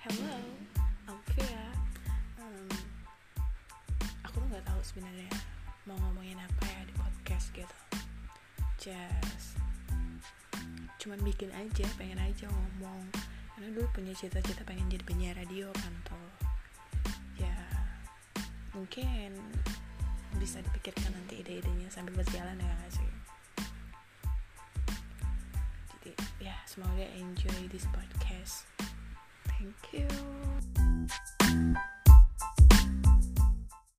Hello, Alvia. Aku tuh nggak tahu sebenarnya mau ngomongin apa ya di podcast gitu. Cuman bikin aja, pengen aja ngomong. Karena dulu punya cita-cita pengen jadi penyiar radio kan tuh. Ya, mungkin bisa dipikirkan nanti ide-idenya sambil berjalan ya nggak sih. Jadi ya semoga enjoy this podcast. Thank you.